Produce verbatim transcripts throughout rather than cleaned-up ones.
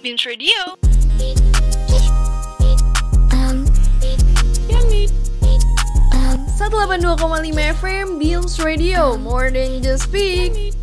Beams Radio. Um, um, seratus delapan puluh dua koma lima F M Beams Radio, more than just speak.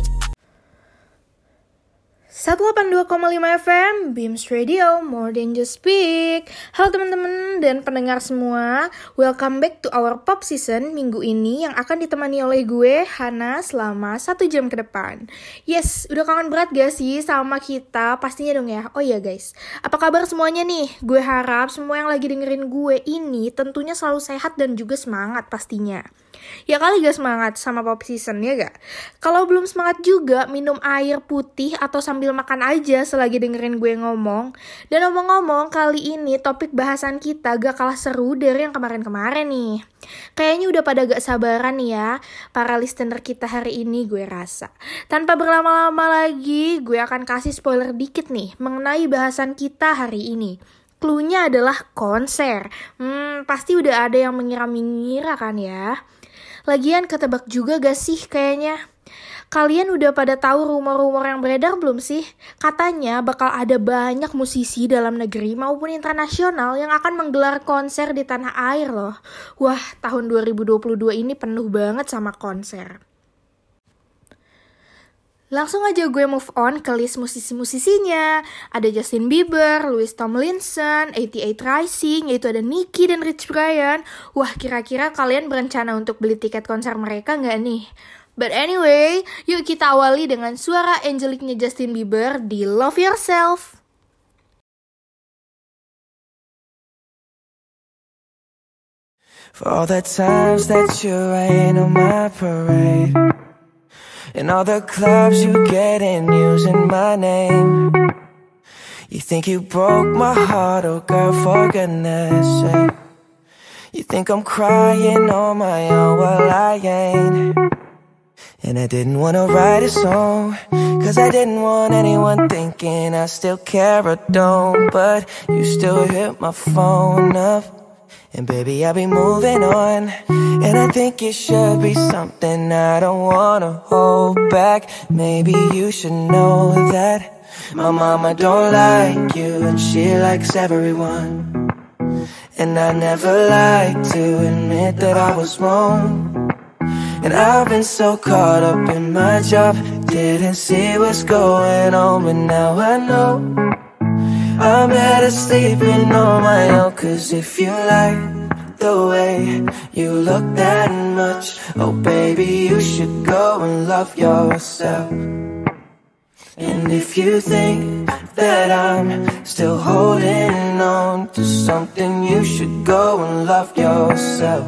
seratus delapan puluh dua koma lima F M Beams Radio, more than just speak. Halo teman-teman dan pendengar semua, welcome back to our pop season minggu ini yang akan ditemani oleh gue, Hana, selama satu jam ke depan. Yes, udah kangen berat gak sih sama kita? Pastinya dong ya. Oh iya guys, apa kabar semuanya nih? Gue harap semua yang lagi dengerin gue ini tentunya selalu sehat dan juga semangat pastinya. Ya kali gak semangat sama pop season ya gak? Kalau belum semangat juga, minum air putih atau sambil makan aja selagi dengerin gue ngomong. Dan ngomong-ngomong, kali ini topik bahasan kita gak kalah seru dari yang kemarin-kemarin nih. Kayaknya udah pada gak sabaran nih ya para listener kita hari ini, gue rasa. Tanpa berlama-lama lagi, gue akan kasih spoiler dikit nih mengenai bahasan kita hari ini. Cluenya adalah konser. Hmm, pasti udah ada yang mengira-mengira kan ya. Lagian ketebak juga gak sih kayaknya? Kalian udah pada tahu rumor-rumor yang beredar belum sih? Katanya bakal ada banyak musisi dalam negeri maupun internasional yang akan menggelar konser di tanah air loh. Wah, tahun dua ribu dua puluh dua ini penuh banget sama konser. Langsung aja gue move on ke list musisi-musisinya. Ada Justin Bieber, Louis Tomlinson, delapan puluh delapan Rising, yaitu ada Nicki dan Rich Brian. Wah, kira-kira kalian berencana untuk beli tiket konser mereka nggak nih? But anyway, yuk kita awali dengan suara angeliknya Justin Bieber di Love Yourself. For all the times that you rain on my parade, and all the clubs you get in using my name. You think you broke my heart, oh girl, for goodness sake. You think I'm crying on my own, well I ain't. And I didn't wanna write a song, cause I didn't want anyone thinking I still care or don't. But you still hit my phone up, and baby, I'll be moving on. And I think it should be something I don't wanna hold back. Maybe you should know that my mama don't like you, and she likes everyone. And I never like to admit that I was wrong. And I've been so caught up in my job, didn't see what's going on, but now I know I'm better sleeping on my own. Cause if you like the way you look that much, oh baby, you should go and love yourself. And if you think that I'm still holding on to something, you should go and love yourself.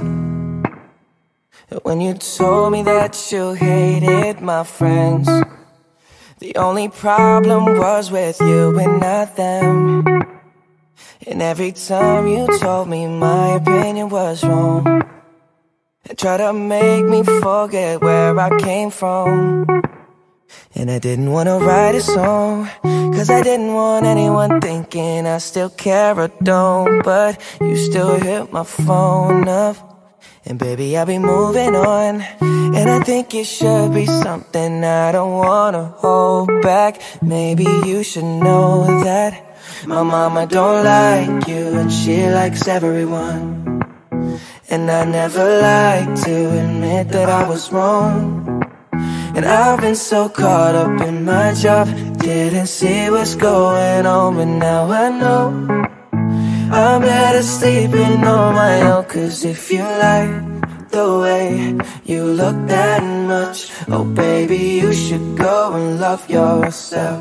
When you told me that you hated my friends, the only problem was with you and not them. And every time you told me my opinion was wrong, and tried to make me forget where I came from. And I didn't want to write a song, cause I didn't want anyone thinking I still care or don't. But you still hit my phone up, and baby, I'll be moving on. And I think it should be something I don't wanna hold back. Maybe you should know that my mama don't like you, and she likes everyone. And I never like to admit that I was wrong. And I've been so caught up in my job, didn't see what's going on, but now I know I'm better sleeping on my own. Cause if you like the way you look that much, oh baby, you should go and love yourself.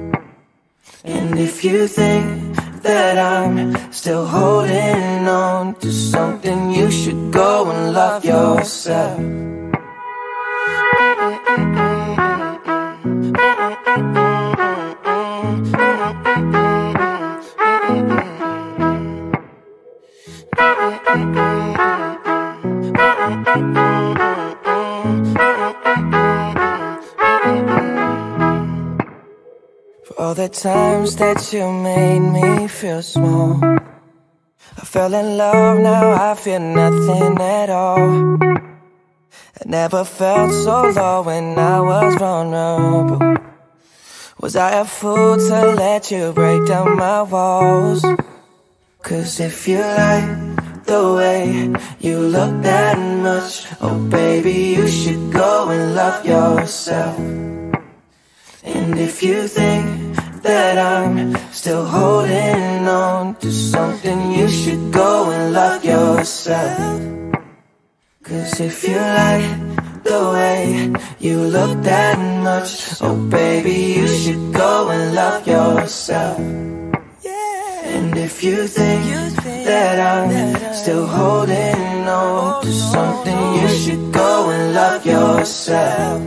And if you think that I'm still holding on to something, you should go and love yourself. For all the times that you made me feel small, I fell in love, now I feel nothing at all. I never felt so low when I was vulnerable. Was I a fool to let you break down my walls? Cause if you like the way you look that much, oh baby, you should go and love yourself. And if you think that I'm still holding on to something, you should go and love yourself. Cause if you like the way you look that much, oh baby, you should go and love yourself. And if you think that I'm still holding on to something, you should go and love yourself.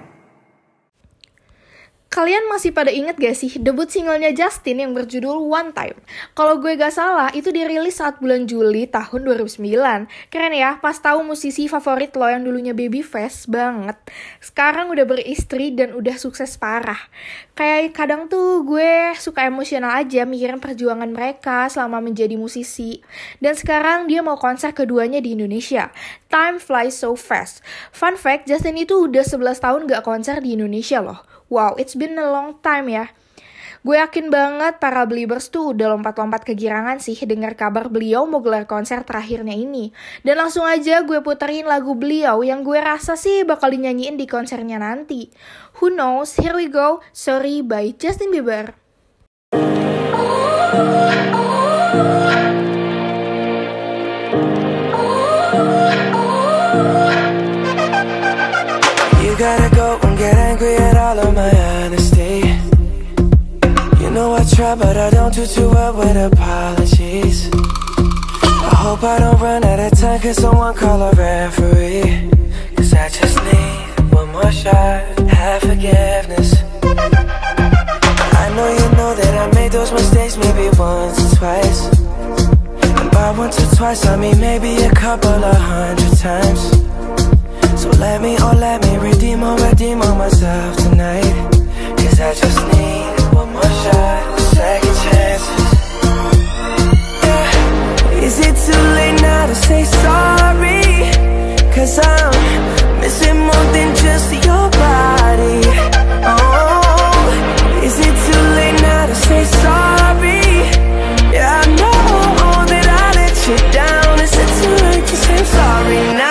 Kalian masih pada inget gak sih debut singlenya Justin yang berjudul One Time? Kalau gue gak salah, itu dirilis saat bulan Juli tahun dua ribu sembilan. Keren ya, pas tahu musisi favorit lo yang dulunya Babyface banget, sekarang udah beristri dan udah sukses parah. Kayak kadang tuh gue suka emosional aja mikirin perjuangan mereka selama menjadi musisi. Dan sekarang dia mau konser keduanya di Indonesia. Time flies so fast. Fun fact, Justin itu udah sebelas tahun gak konser di Indonesia loh. Wow, it's been a long time ya. Gue yakin banget para Beliebers tuh udah lompat-lompat kegirangan sih dengar kabar beliau mau gelar konser terakhirnya ini. Dan langsung aja gue puterin lagu beliau yang gue rasa sih bakal dinyanyiin di konsernya nanti. Who knows? Here we go. Sorry by Justin Bieber. You gotta go and get angry at all of my honesty. You know I try but I don't do too well with apologies. I hope I don't run out of time, cause someone call a referee. Cause I just need one more shot, have forgiveness. I know you know that I made those mistakes maybe once or twice. And by once or twice I mean maybe a couple of hundred times. So let me, oh let me redeem or redeem on myself tonight. Cause I just need one more shot, second chances. Yeah. Is it too late now to say sorry? Cause I'm missing more than just your body. Oh, is it too late now to say sorry? Yeah, I know that I let you down. Is it too late to say sorry now?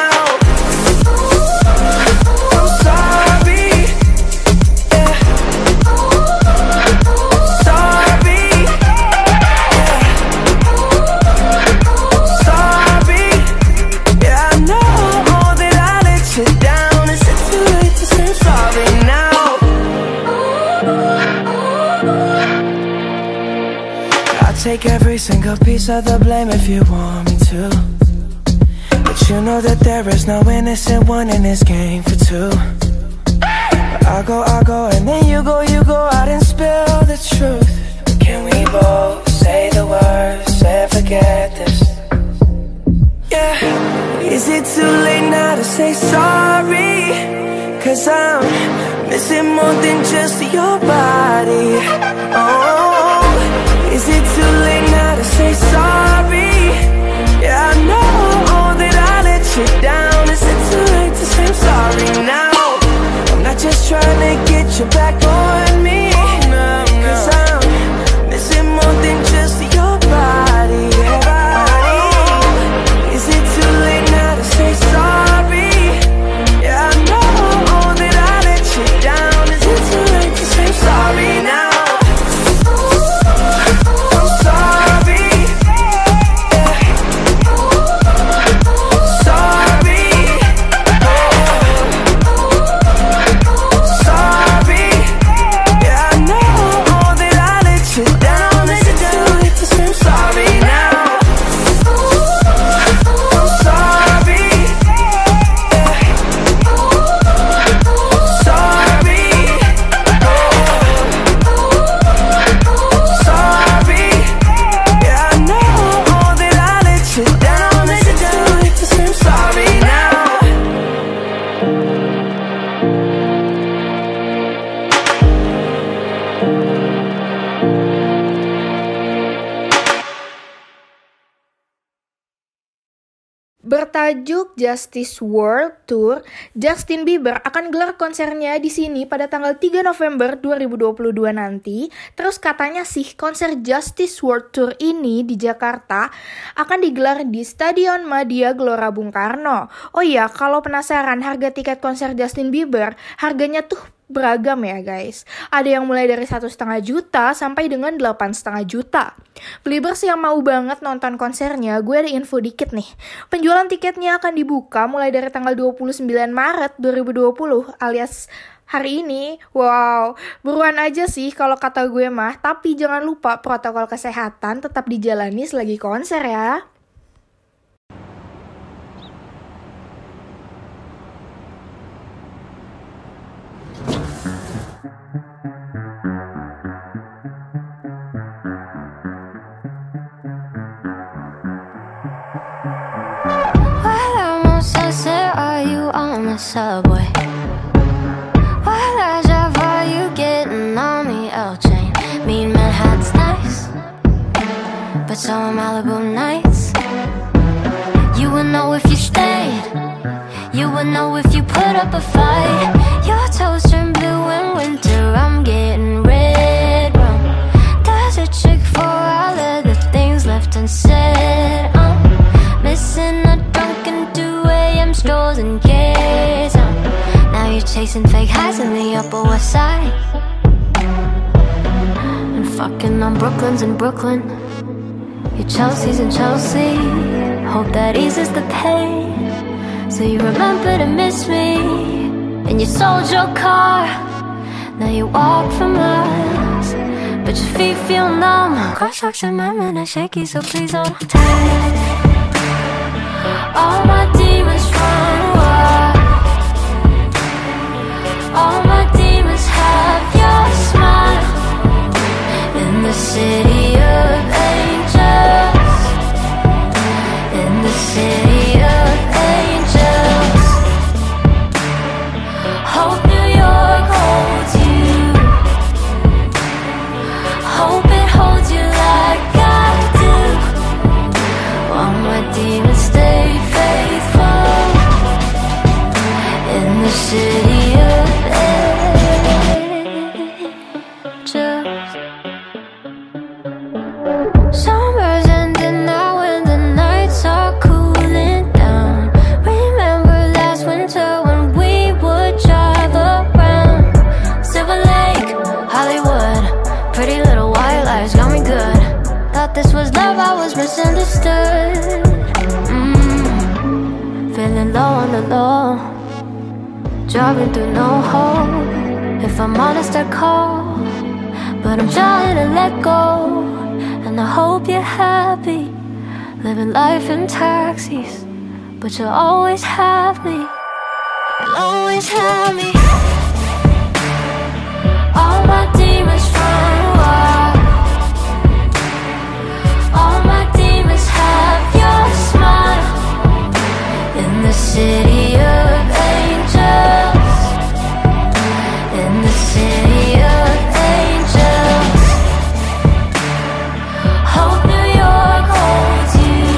Take every single piece of the blame if you want me to. But you know that there is no innocent one in this game for two. But I go, I go, and then you go, you go out and spill the truth. Can we both say the words and forget this? Yeah. Is it too late now to say sorry? Cause I'm missing more than just your body. Oh, is it too late now to say sorry? Yeah, I know that I let you down. Is it too late to say I'm sorry now? I'm not just trying to get you back on me. Cause I'm missing more than just your body. Oh, is it too late now to say sorry? Yeah, I know that I let you down. Is it too late to say I'm sorry now? bertajuk Justice World Tour. Justin Bieber akan gelar konsernya di sini pada tanggal tiga November dua ribu dua puluh dua nanti. Terus katanya sih konser Justice World Tour ini di Jakarta akan digelar di Stadion Madia Gelora Bung Karno. Oh iya, kalau penasaran harga tiket konser Justin Bieber, harganya tuh beragam ya guys. Ada yang mulai dari satu setengah juta sampai dengan delapan setengah juta. Believers yang mau banget nonton konsernya, gue ada info dikit nih. Penjualan tiketnya akan dibuka mulai dari tanggal dua puluh sembilan Maret dua ribu dua puluh alias hari ini. Wow, buruan aja sih kalau kata gue mah. Tapi jangan lupa protokol kesehatan tetap dijalani selagi konser ya. Are you on the subway? What a job are you getting on the L train? Mean Manhattan's nice, but so are Malibu nights. You would know if you stayed. You would know if you put up a fight. Your toes turn blue in winter. I'm getting red rum. Does a chick for all of the things left unsaid? I'm missing a Dunkin' two a.m. strolls and gates. uh, Now you're chasing fake highs in the Upper West Side, and fucking on Brooklyn's in Brooklyn. Your Chelsea's in Chelsea. Hope that eases the pain, so you remember to miss me. And you sold your car. Now you walk for miles, but your feet feel numb. Crosswalks and my men are shaky, so please hold tight. All my demons run wild. All my demons have your smile. In the city of angels. In the city of angels. Hope New York holds you. Hope it holds you like I do. While my demons stay faithful in the city of angels. Summer's ending now and the nights are cooling down. Remember last winter when we would drive around Silver Lake, Hollywood. Pretty little white lies got me good. Thought this was love, I was misunderstood. mm. Feeling low on the low, driving through no hope. If I'm honest I call, but I'm trying to let go. And I hope you're happy, living life in taxis, but you'll always have me. You'll always have me. All my demons run wild. All my demons have your smile. In the city of angels. In the city of angels. Hope New York holds you.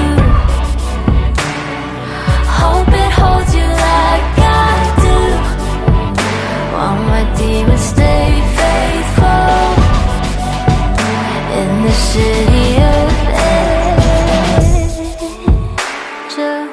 Hope it holds you like I do. While my demons stay faithful. In the city of angels.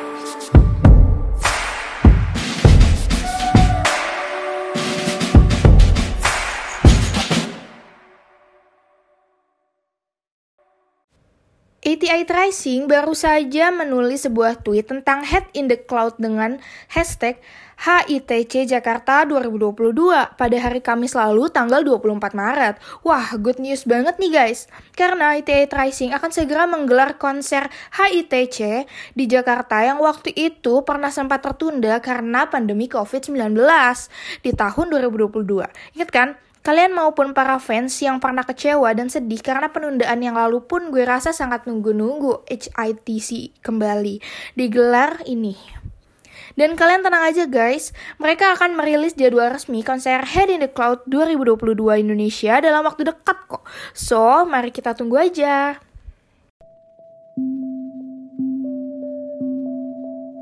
A T I Tracing baru saja menulis sebuah tweet tentang Head in the Cloud dengan hashtag H I T C Jakarta dua ribu dua puluh dua pada hari Kamis lalu tanggal dua puluh empat Maret. Wah, good news banget nih guys. Karena A T I Tracing akan segera menggelar konser H I T C di Jakarta yang waktu itu pernah sempat tertunda karena pandemi covid sembilan belas di tahun dua ribu dua puluh dua. Ingat kan? Kalian maupun para fans yang pernah kecewa dan sedih karena penundaan yang lalu pun gue rasa sangat nunggu-nunggu H I T C kembali digelar ini. Dan kalian tenang aja guys, mereka akan merilis jadwal resmi konser Head in the Cloud dua ribu dua puluh dua Indonesia dalam waktu dekat kok. So, mari kita tunggu aja.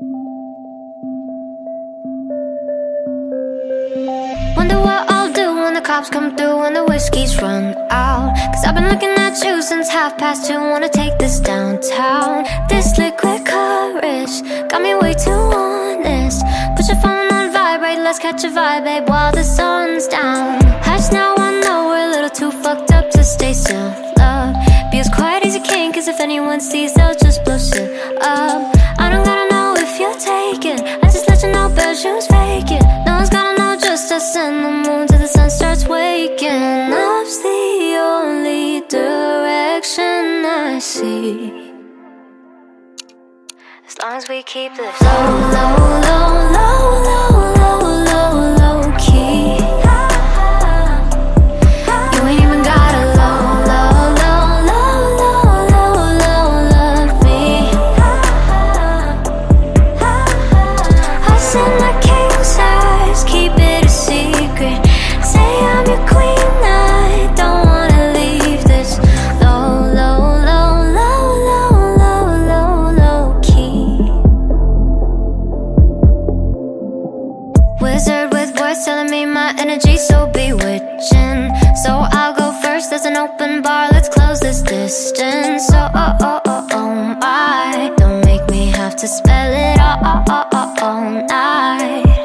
cops come through when the whiskey's run out. Cause I've been looking at you since half past two. Wanna take this downtown. This liquid courage got me way too honest. Put your phone on vibrate, let's catch a vibe, babe, while the sun's down. Hush now, I know we're a little too fucked up to stay still, love. Be as quiet as you can, cause if anyone sees, they'll just blow shit up. I don't gotta know if you're taken, I just let you know bad shoes faking. No one's gotta know, just us and the moon till the sun starts waking. Up's the only direction I see, as long as we keep this low, low, low, low, low, low, low, low key. You ain't even gotta low, low, low, low, low, low, low, love me. I said my king size, keep it a secret. Say I'm your queen, I don't wanna leave this low, low, low, low, low, low, low, low key. Wizard with words telling me my energy's so bewitching. So I'll go first, there's an open bar, let's close this distance. Oh, oh, oh, oh, oh my, don't make me have to spell it all, all, all, all, all night.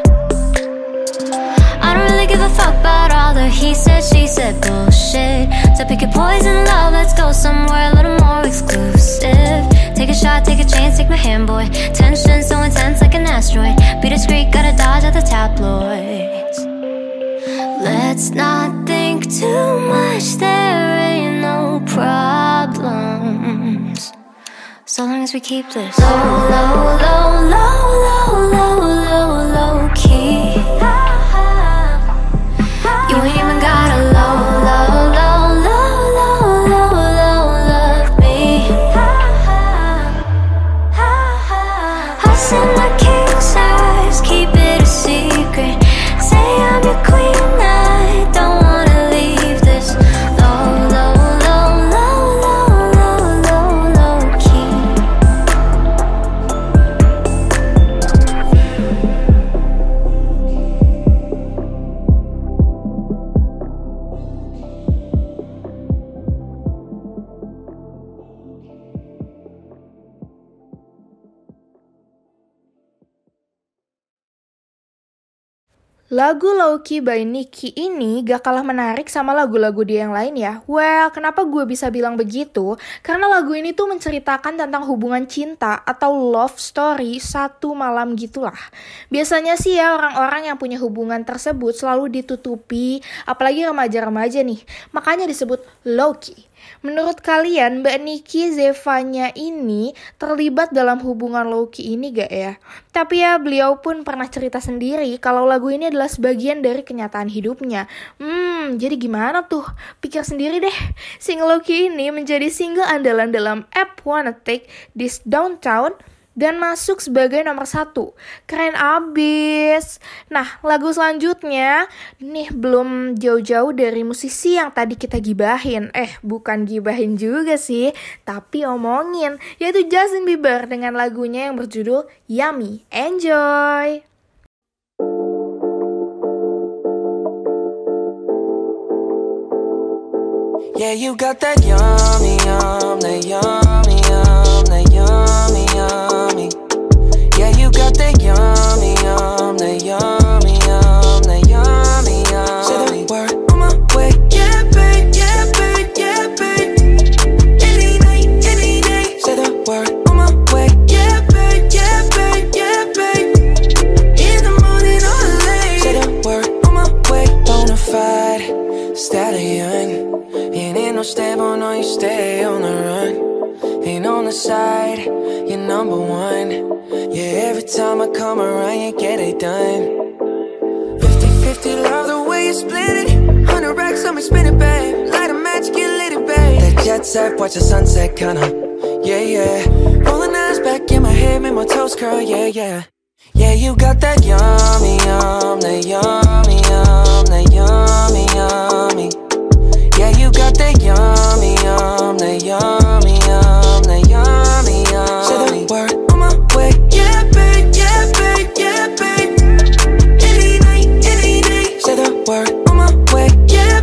I don't really give a fuck about all the he said, she said bullshit. So pick your poison, love, let's go somewhere a little more exclusive. Take a shot, take a chance, take my hand, boy. Tension so intense like an asteroid. Be discreet, gotta dodge at the tabloids. Let's not think too much, there ain't no problems, so long as we keep this low, low, low, low, low, low, low, low key. You ain't even gotta low, low, low, low, low, low, low, love me. I said my king size, keep it a secret. Say I'm your queen, I don't wanna leave this low, low, low, low, low, low, low, low key. Lagu Low-Key by Nicki ini gak kalah menarik sama lagu-lagu dia yang lain ya. Well, kenapa gue bisa bilang begitu? Karena lagu ini tuh menceritakan tentang hubungan cinta atau love story satu malam gitulah. Biasanya sih ya orang-orang yang punya hubungan tersebut selalu ditutupi, apalagi remaja-remaja nih. Makanya disebut low-key. Menurut kalian Mbak Nicki Zevanya ini terlibat dalam hubungan low-key ini gak ya? Tapi ya beliau pun pernah cerita sendiri kalau lagu ini adalah sebagian dari kenyataan hidupnya. Hmm, jadi gimana tuh? Pikir sendiri deh. Single low-key ini menjadi single andalan dalam app Wanna Take This Downtown dan masuk sebagai nomor satu. Keren abis. Nah, lagu selanjutnya nih belum jauh-jauh dari musisi yang tadi kita gibahin. Eh, bukan gibahin juga sih, tapi omongin, yaitu Justin Bieber dengan lagunya yang berjudul Yummy. Enjoy! Yeah, you got that yummy, yum, that yummy, yum, that yummy, yummy. Yeah, you got that yummy, yum, that yummy, yum, that yummy, yummy. Say the word on my way. Yeah, babe, yeah, babe, yeah, babe. Any night, any day. Say the word on my way. Yeah, babe, yeah, babe, yeah, babe. In the morning or late. Say the word on my way. Bonafide stallion. Ain't no stable, no, you stay on the run. Ain't on the side, you're number one. Yeah, every time I come around, you get it done. Fifty fifty, love the way you split it. Hundred racks on me, spin it, babe. Light a match, get lit, babe. That jet set, watch the sunset, kinda. Yeah, yeah. Rolling eyes back in my head, make my toes curl, yeah, yeah. Yeah, you got that yummy, yum, that yummy, yum, that yummy, yummy. Yeah, you got that yummy, yum, that yummy, yum, that yummy, yummy. Say the word on my way. Yeah, babe, yeah, babe, yeah, babe. Any night, any day. Say the word on my way. Yeah,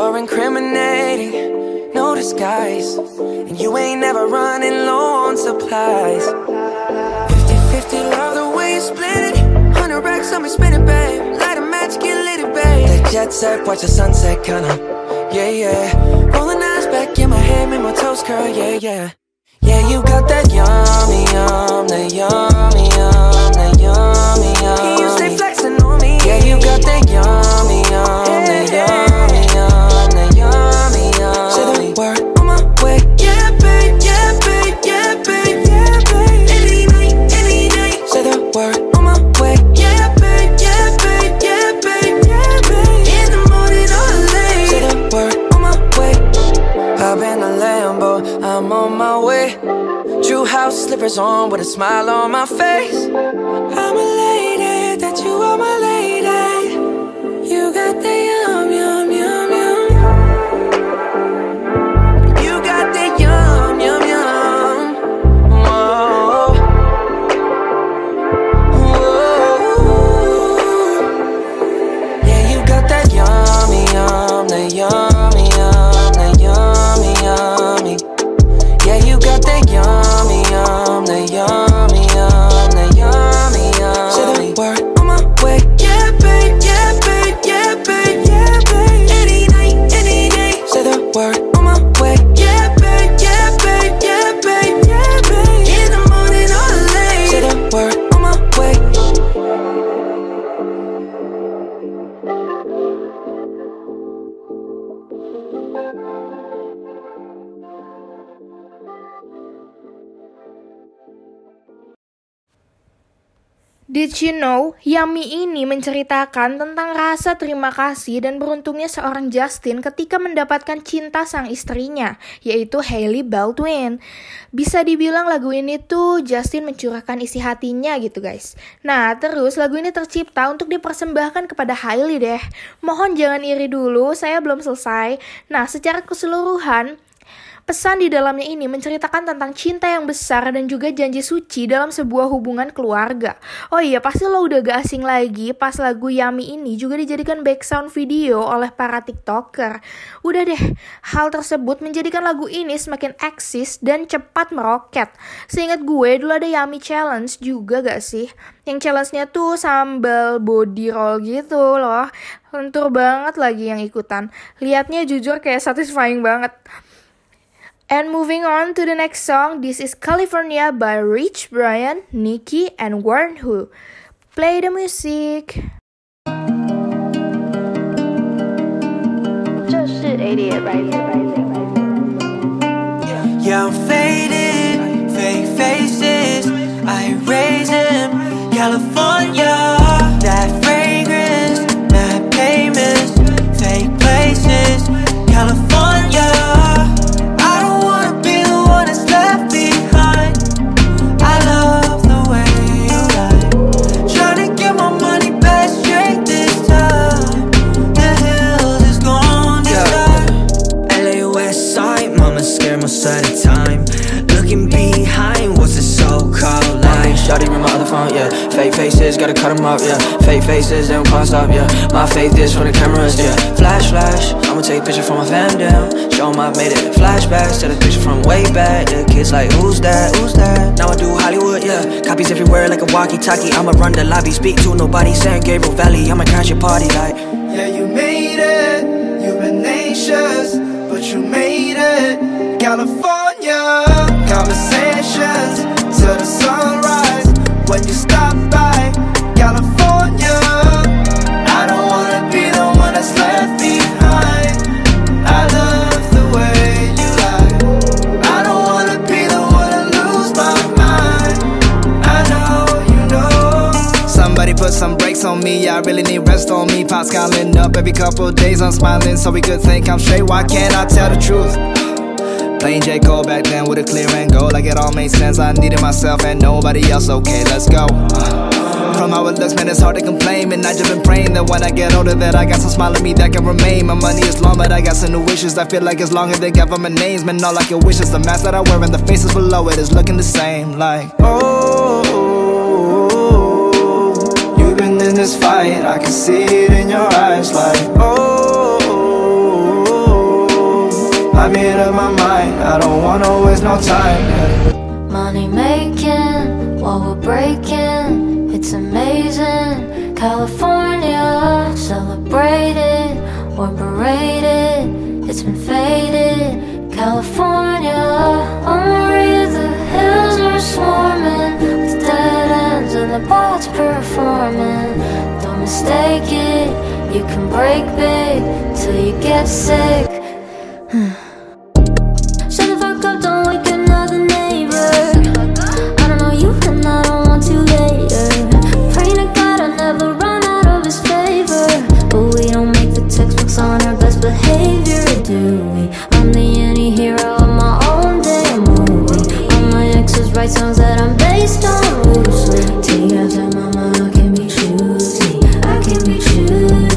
you're incriminating, no disguise. And you ain't never running low on supplies. Fifty fifty, love the way you split it. Hundred racks on me, spin it, babe. Light a match, get lit, it, babe. That jet set, watch the sunset, kinda. Yeah, yeah. Rolling eyes back in my head, make my toes curl, yeah, yeah. Yeah, you got that yummy, yum, that yummy, yum, that yummy, yum. You stay flexing on me. Yeah, you got that yummy, yum, that yummy, yum, that yummy, yum. Say the word on my way. Yeah, babe, yeah, babe, yeah, babe, yeah, babe. Any night, any night. Say the word on my way. Yeah, babe, yeah, babe, yeah, babe, yeah, babe. In the morning or late. Say the word on my way. Hop in a Lambo, I'm on my way. True house slippers on with a smile on my face. I'm elated that you are my lady. You got the yum, yum, yum, yum. You got the yum, yum, yum. Whoa. Whoa. Yeah, you got that yummy, yum, that yummy, yum, that yummy, yummy. Yeah, you got that yummy, yum, that yummy, yum, that yummy, yum. Say the word on my way. Yeah, babe, yeah, babe, yeah, babe, yeah, babe. Any night, any day. Say the word on my way. Yeah, babe, yeah, babe, yeah, babe, yeah, babe. In the morning or late. Say the word on my way. Did you know, Yummy ini menceritakan tentang rasa terima kasih dan beruntungnya seorang Justin ketika mendapatkan cinta sang istrinya, yaitu Hailey Baldwin. Bisa dibilang lagu ini tuh Justin mencurahkan isi hatinya gitu guys. Nah, terus lagu ini tercipta untuk dipersembahkan kepada Hailey deh. Mohon jangan iri dulu, saya belum selesai. Nah, secara keseluruhan, pesan di dalamnya ini menceritakan tentang cinta yang besar dan juga janji suci dalam sebuah hubungan keluarga. Oh iya, pasti lo udah gak asing lagi pas lagu Yummy ini juga dijadikan background video oleh para TikToker. Udah deh, hal tersebut menjadikan lagu ini semakin eksis dan cepat meroket. Seingat gue, dulu ada Yummy Challenge juga gak sih? Yang challenge-nya tuh sambal body roll gitu loh. Lentur banget lagi yang ikutan. Lihatnya jujur kayak satisfying banget. And moving on to the next song, this is California by Rich Brian, Nicki, and Warren Hu. Play the music. 这是 eighty-eight Rising. Yeah, I'm faded, fake faces, I raise them, California. That fragrance, mad payments, fake places, California. At a time, looking behind, what's it so called like? Shawty with my other phone, yeah. Fake faces, gotta cut them up, yeah. Fake faces, they don't can't stop, yeah. My faith is from the cameras, yeah. Flash, flash, I'ma take a picture from my fam down. Show 'em I've made it flashbacks, take a picture from way back. The kids like, who's that, who's that? Now I do Hollywood, yeah. Copies everywhere like a walkie-talkie. I'ma run the lobby, speak to nobody. San Gabriel Valley, I'ma crash your party like. Yeah, you made it, you've been anxious, but you made it. California, conversations till the sunrise. When you stop by California, I don't wanna be the one that's left behind. I love the way you lie. I don't wanna be the one to lose my mind. I know you know. Somebody put some brakes on me, I really need rest on me. Pops calling up every couple of days, I'm smiling so we could think I'm straight. Why can't I tell the truth? Playing J. Cole back then with a clear and goal, like it all made sense. I needed myself and nobody else, okay, let's go. From how it looks, man, it's hard to complain. And I just been praying that when I get older that I got some smile on me that can remain. My money is long, but I got some new wishes. I feel like as long as they government names, man, all like your wishes. The mask that I wear and the faces below it is looking the same. Like, oh, you've been in this fight, I can see it in your eyes. Like, oh, I made up my mind, I don't wanna waste no time, yeah. Money making while we're breaking, it's amazing. California, celebrated or berated, it's been faded. California, on Maria, the hills are swarming with dead ends and the bots performing. Don't mistake it, you can break big till you get sick. Shut the fuck up, don't wake another neighbor. I don't know you and I don't want to later. Pray to God I never run out of his favor, but we don't make the textbooks on our best behavior, do we? I'm the anti-hero of my own damn movie. All my exes write songs that I'm based on loosely. Take after mama, I can be choosy, I can be choosy.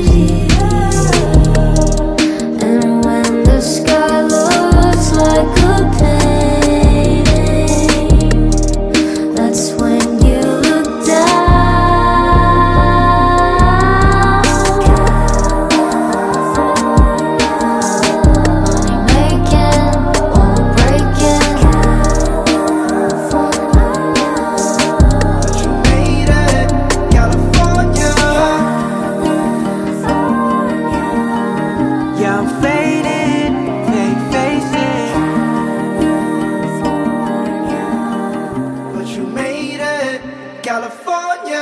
And when the sky looks like a painting, that's when you look down. Money making while we're breaking. You made it, California. Yeah, I'm faded, fake facing. But you made it, California.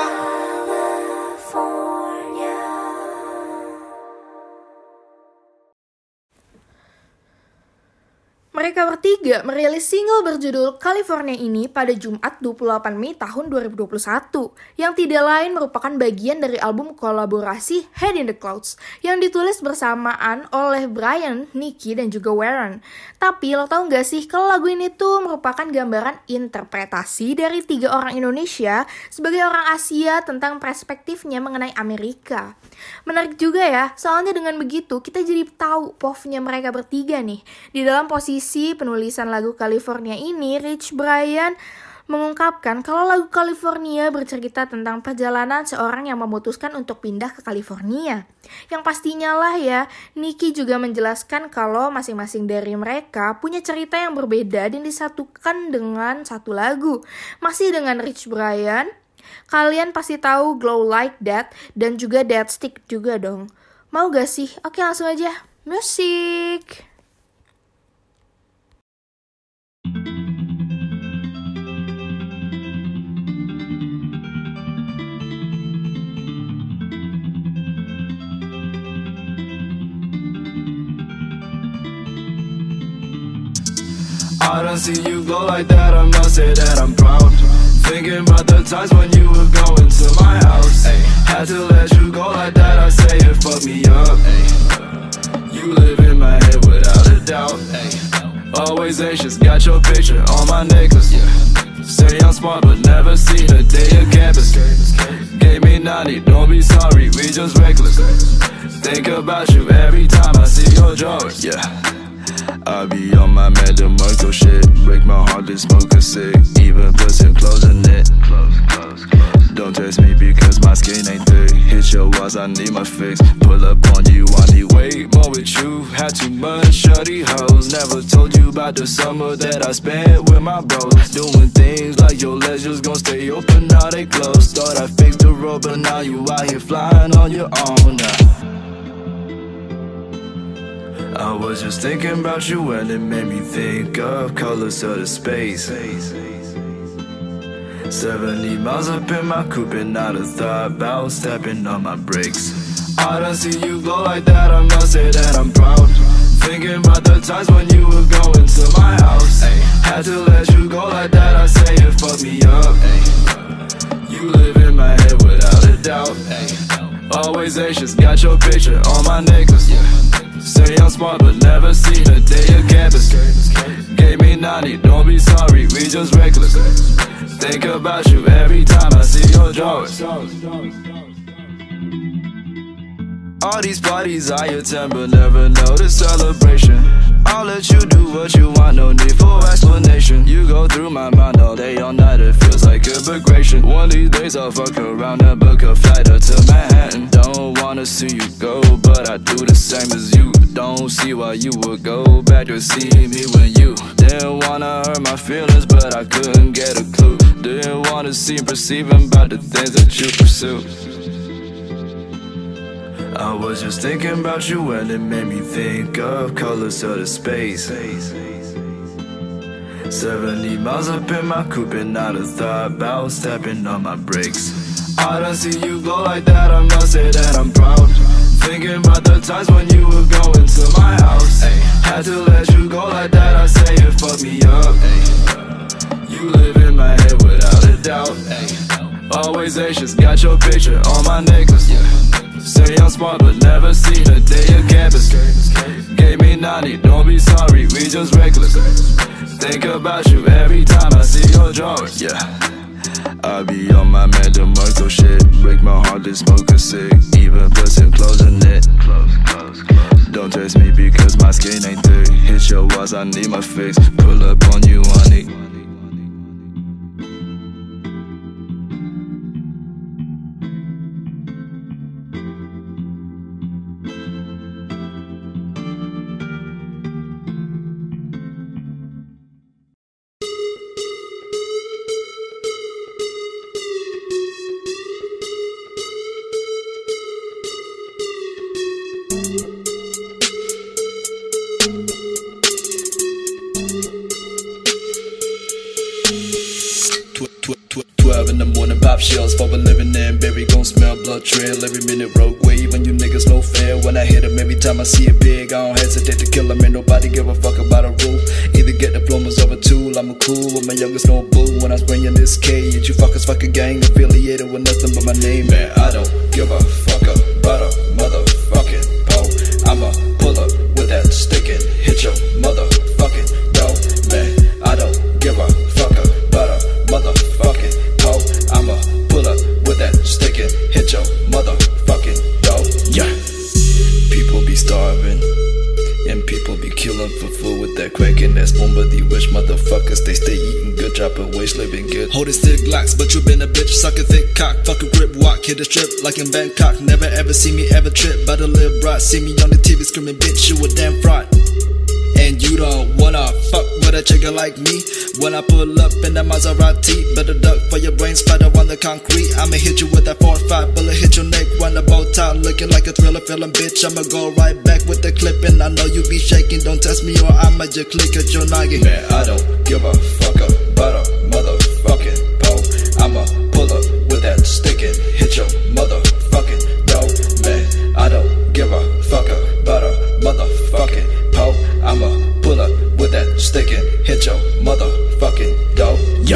Mereka bertiga merilis single berjudul California ini pada Jumat dua puluh delapan Mei tahun dua ribu dua puluh satu, yang tidak lain merupakan bagian dari album kolaborasi Head in the Clouds yang ditulis bersamaan oleh Brian, Nicky, dan juga Warren. Tapi lo tau gak sih kalau lagu ini tuh merupakan gambaran interpretasi dari tiga orang Indonesia sebagai orang Asia tentang perspektifnya mengenai Amerika. Menarik juga ya, soalnya dengan begitu kita jadi tahu P O V-nya mereka bertiga nih. Di dalam posisi penulisan lagu California ini, Rich Brian mengungkapkan kalau lagu California bercerita tentang perjalanan seorang yang memutuskan untuk pindah ke California. Yang pastinya lah ya, Nicky juga menjelaskan kalau masing-masing dari mereka punya cerita yang berbeda dan disatukan dengan satu lagu. Masih dengan Rich Brian, kalian pasti tahu Glow Like That dan juga Dead Stick juga dong. Mau gak sih? Oke, langsung aja. Musik! I don't see you glow like that, I must say that I'm proud. Thinking about the times when you were going to my house. Ay, had to let you go like that, I say it fucked me up. Ay, you live in my head without a doubt. Ay, always anxious, got your picture on my necklace. Yeah. Say I'm smart but never seen a day of campus. Gave me ninety, don't be sorry, we just reckless. Think about you every time I see your drawers. Yeah, I be on my Mad DeMarco shit. Break my heart to smoke a cig. Even put some clothes in it. Don't test me because my skin ain't thick. Hit your walls, I need my fix. Pull up on you, I need way more with you. Had too much shorty hoes. Never told you about the summer that I spent with my bros. Doing things like your legs just gon' stay open, now they closed. Thought I fixed the road, but now you out here flying on your own now. I was just thinking about you and it made me think of colors of the space. Seventy miles up in my coupe and not a thought about stepping on my brakes. I don't see you glow like that, I must say that I'm proud. Thinking about the times when you were going to my house. Ay, had to let you go like that, I say it fucked me up. Ay, you live in my head without a doubt. Ay, always anxious, got your picture on my necklace. Yeah. Say I'm smart but never seen a day of campus. Gave me ninety, don't be sorry, we just reckless. Think about you every time I see your drawers. All these parties I attend but never know the celebration. I'll let you do what you want, no need for explanation. You go through my mind all day, all night, it feels like immigration. One of these days I'll fuck around and book a flight up to Manhattan. Don't wanna see you go, but I do the same as you. Don't see why thought you would go back to see me when you didn't wanna hurt my feelings, but I couldn't get a clue. Didn't wanna seem perceiving about the things that you pursue. I was just thinking about you and it made me think of colors of the space. Seventy miles up in my coupe and not a thought about stepping on my brakes. I don't see you glow like that, I must say that I'm proud. Thinking about the times when you were going to my house. Ay, had to let you go like that, I say it fucked me up. Ay, you live in my head without a doubt. Ay, always anxious, got your picture on my necklace. Yeah. Say I'm smart but never seen a day of campus. Gave me ninety, don't be sorry, we just reckless. Think about you every time I see your drawers. Yeah, I be on my man DeMarco shit. Break my heart to smoke a cig. Even put some clothes in it. Don't test me because my skin ain't thick. Hit your walls, I need my fix. Pull up on you, honey. twelve in the morning, pop shells for a living and baby gon' smell blood trail every minute. Rogue wave and you niggas no fair. When I hit 'em, every time I see it big, I don't hesitate to kill 'em. Ain't nobody give a fuck about a rule. Either get diplomas of a tool. I'm a cool with my youngest no boo. When I'm spraying this cage, you fuckers fuck a gang affiliated with nothing but my name. Man, I don't give a fuck about a motherfucking pole. I'ma pull up with that stick and hit your motherfucking door. Man, I don't give a fuck about a motherfucking pole. I'ma pull up with that stick and hit your motherfucking door. Yeah. People be starving and people be killing for food with that crack and that spoon. But these rich motherfuckers, they stay eating good, dropping waste, living good. Holding stick glocks, but you been a bitch. Sucking thick cock, fucking grip walk, hit a strip like in Bangkok. Never ever see me ever trip, but a live broad. See me on the T V screaming, bitch, you a damn fraud. And you don't wanna fuck with a chick like me. When I pull up in that Maserati, better duck for your brain splatter on the concrete. I'ma hit you with that four five bullet, hit your neck, run the bow tie, looking like a thriller film, bitch. I'ma go right back with the clip, and I know you be shaking. Don't test me or I'ma just click at your noggin. Man, I don't give a fuck about a motherfucking pole. I'ma pull up with that stick and hit your motherfucking door. Man, I don't give a fuck about a motherfucking pole. I'ma pull up with that stick and hit your motherfucking door. Yeah.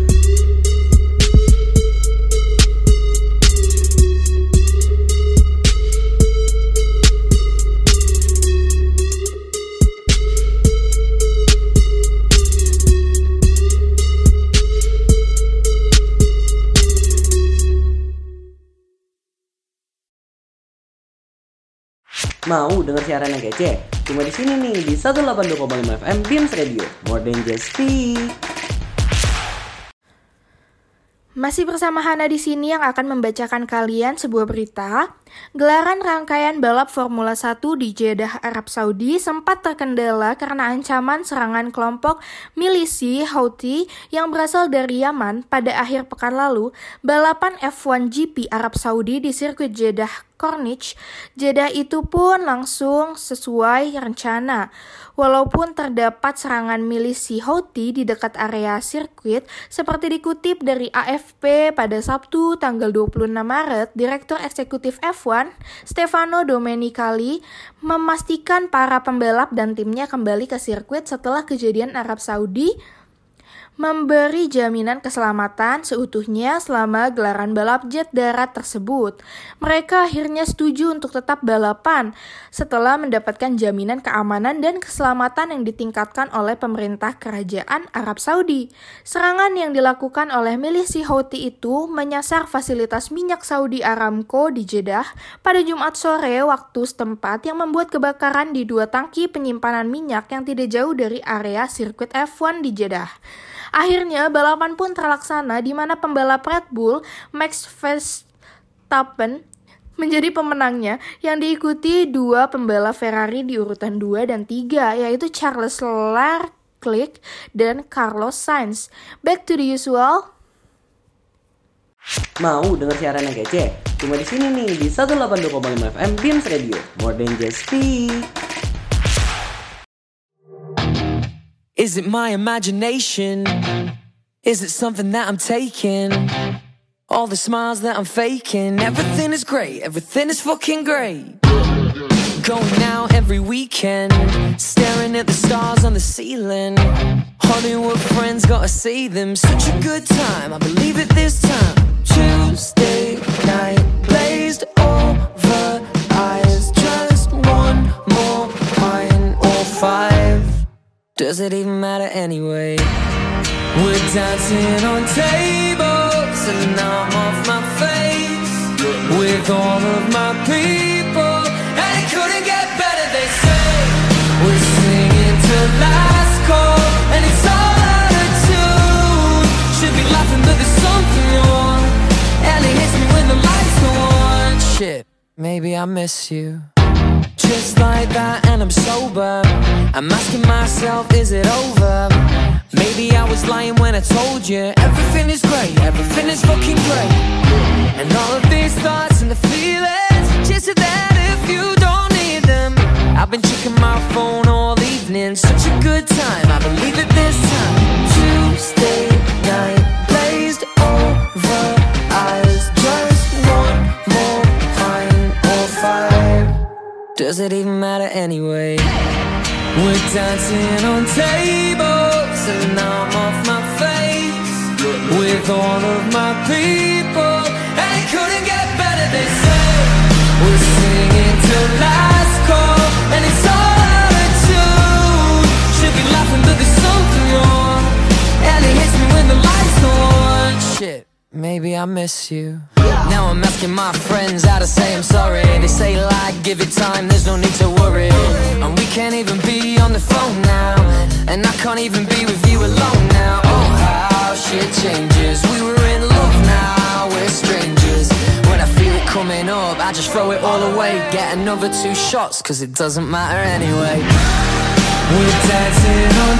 Mau denger siaran yang kece? Cuma di sini nih di seratus delapan puluh dua koma lima F M Beams Radio, more than just speak. Masih bersama Hana di sini yang akan membacakan kalian sebuah berita. Gelaran rangkaian balap Formula satu di Jeddah, Arab Saudi sempat terkendala karena ancaman serangan kelompok milisi Houthi yang berasal dari Yaman pada akhir pekan lalu. Balapan F satu G P Arab Saudi di sirkuit Jeddah Corniche, Jeddah itu pun langsung sesuai rencana. Walaupun terdapat serangan milisi Houthi di dekat area sirkuit, seperti dikutip dari A F P pada Sabtu tanggal dua puluh enam Maret, Direktur Eksekutif F satu, Stefano Domenicali, memastikan para pembalap dan timnya kembali ke sirkuit setelah kejadian Arab Saudi memberi jaminan keselamatan seutuhnya selama gelaran balap jet darat tersebut. Mereka akhirnya setuju untuk tetap balapan setelah mendapatkan jaminan keamanan dan keselamatan yang ditingkatkan oleh pemerintah kerajaan Arab Saudi. Serangan yang dilakukan oleh milisi Houthi itu menyasar fasilitas minyak Saudi Aramco di Jeddah pada Jumat sore waktu setempat yang membuat kebakaran di dua tangki penyimpanan minyak yang tidak jauh dari area sirkuit F satu di Jeddah. Akhirnya balapan pun terlaksana di mana pembalap Red Bull Max Verstappen menjadi pemenangnya yang diikuti dua pembalap Ferrari di urutan dua dan tiga, yaitu Charles Leclerc dan Carlos Sainz. Back to the usual. Mau denger siaran yang kece? Cuma di sini nih di seratus delapan puluh dua koma lima F M Beams Radio, More Than Just Speak. Is it my imagination? Is it something that I'm taking? All the smiles that I'm faking, everything is great, everything is fucking great. Going out every weekend, staring at the stars on the ceiling. Hollywood friends, gotta see them. Such a good time, I believe it this time. Tuesday night, glazed over eyes. Just one more pint or five. Does it even matter anyway? We're dancing on tables and I'm off my face with all of my people, and it couldn't get better, they say. We're singing to last call and it's all out of tune. Should be laughing but there's something wrong, and it hits me when the lights go on. Shit, maybe I miss you. Just like that and I'm sober, I'm asking myself, is it over? Maybe I was lying when I told you everything is great, everything is fucking great. And all of these thoughts and the feelings, just that if you don't need them. I've been checking my phone all evening, such a good time, I believe it this time. Tuesday night, glazed over eyes. Just one more pint or five. Does it even matter anyway? We're dancing on tables and I'm off my face with all of my people, and it couldn't get better, they say. We're singing till last call and it's all out of tune. Should be laughing but there's something wrong, and it hits me when the lights go on. Shit, maybe I miss you. Now I'm asking my friends how to say I'm sorry. They say like, give it time, there's no need to worry. And we can't even be on the phone now, and I can't even be with you alone now. Oh, how shit changes. We were in love, now we're strangers. When I feel it coming up, I just throw it all away. Get another two shots, cause it doesn't matter anyway. We're dancing on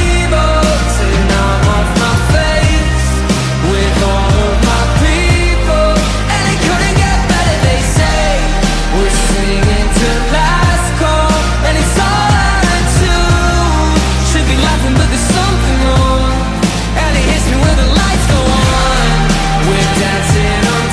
tables and I'm off my face with all of my people, and it couldn't get better, they say. We're singing to last call and it's all out of tune. Should be laughing but there's something wrong, and it hits me when the lights go on. We're dancing on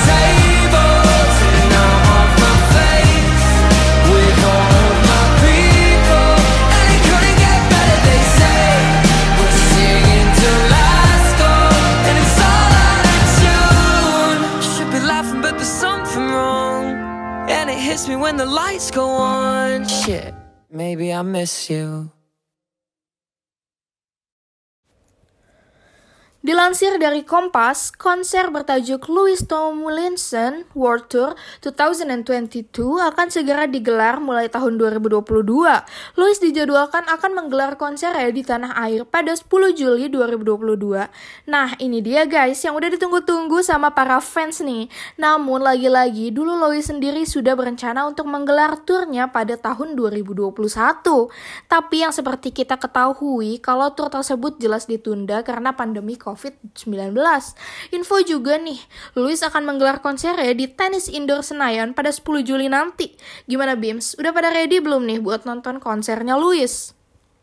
tables and I'm off my face with all of my people, and it couldn't get better, they say. We're singing to last call and it's all out of tune. Should be laughing but there's something wrong, and it hits me when the lights go on. Shit, maybe I miss you. Dilansir dari Kompas, konser bertajuk Louis Tomlinson World Tour dua ribu dua puluh dua akan segera digelar mulai tahun dua ribu dua puluh dua. Louis dijadwalkan akan menggelar konsernya di tanah air pada sepuluh Juli dua ribu dua puluh dua. Nah, ini dia guys yang udah ditunggu-tunggu sama para fans nih. Namun lagi-lagi dulu Louis sendiri sudah berencana untuk menggelar turnya pada tahun dua ribu dua puluh satu. Tapi yang seperti kita ketahui kalau tur tersebut jelas ditunda karena pandemi covid sembilan belas. Info juga nih, Louis akan menggelar konsernya di Tenis Indoor Senayan pada sepuluh Juli nanti. Gimana Bims? Udah pada ready belum nih buat nonton konsernya Louis?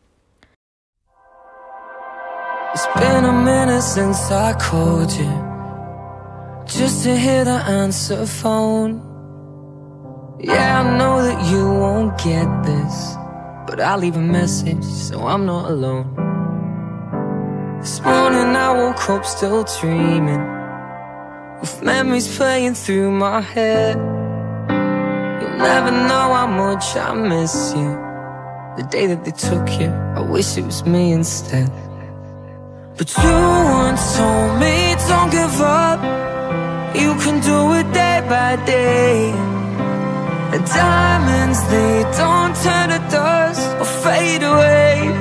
It's been a minute since I called you, just to hear the answer phone. Yeah, I know that you won't get this, but I'll leave a message so I'm not alone. This morning I woke up still dreaming, with memories playing through my head. You'll never know how much I miss you. The day that they took you, I wish it was me instead. But you once told me, don't give up, you can do it day by day. And diamonds, they don't turn to dust or fade away.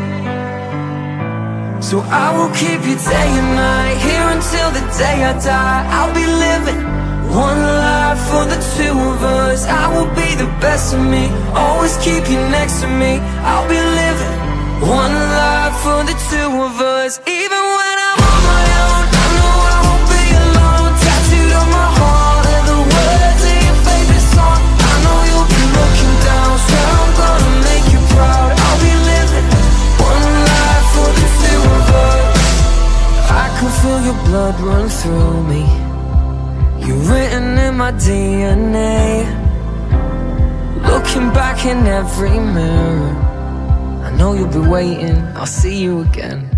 So I will keep you day and night, here until the day I die. I'll be living One life for the two of us. I will be the best of me, always keep you next to me. I'll be living one life for the two of us. Even when I'm on my own, I know I won't be alone. Tattooed on my heart are the words of your favorite song. I know you'll be looking down, swear I'm gonna make you proud. I'll be living one life for the two of us. I can feel your blood run through me. You're written in my D N A. Looking back in every mirror, I know you'll be waiting, I'll see you again.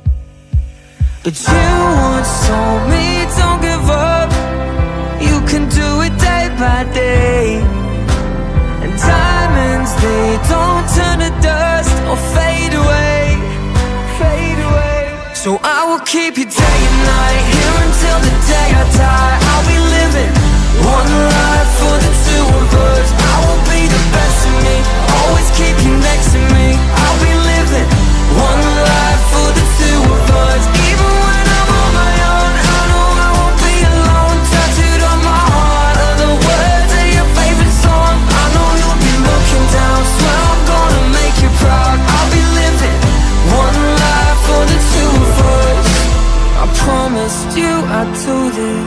But you once told me, don't give up, you can do it day by day. And diamonds, they don't turn to dust or fade away, fade away. So I will keep you day and night, here until the day I die. I'll be living one life for the two of us. I will be the best of me, always keep you next to me. I'll be living one life for the two of us. Even when I'm on my own, I know I won't be alone. Tattooed on my heart are the words of your favorite song. I know you'll be looking down, swear I'm gonna make you proud. I'll be living one life for the two of us. I promised you I'd do this,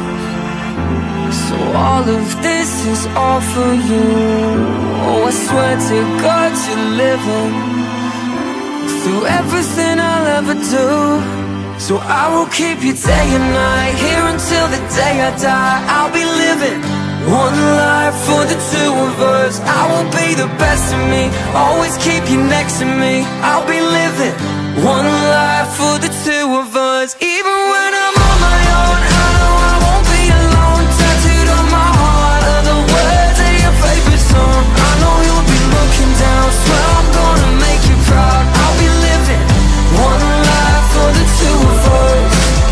so all of this is all for you. Oh, I swear to God you're living through everything I'll ever do. So I will keep you day and night, here until the day I die. I'll be living one life for the two of us. I will be the best of me, always keep you next to me. I'll be living one life for the two of us. Even when I'm on my own, I know I won't be alone. Tattooed on my heart are the words of your favorite song. I know you'll be looking down, swear I'm gonna make you proud. I'll be living one life for the two of us.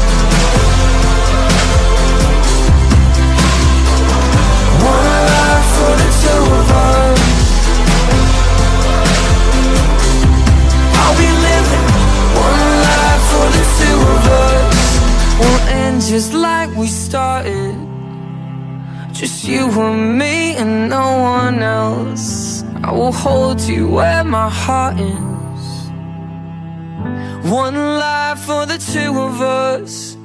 One life for the two of us. I'll be living one life for the two of us. We'll end just like we started, just you and me and no one else. I will hold you where my heart is. One life for the two of us.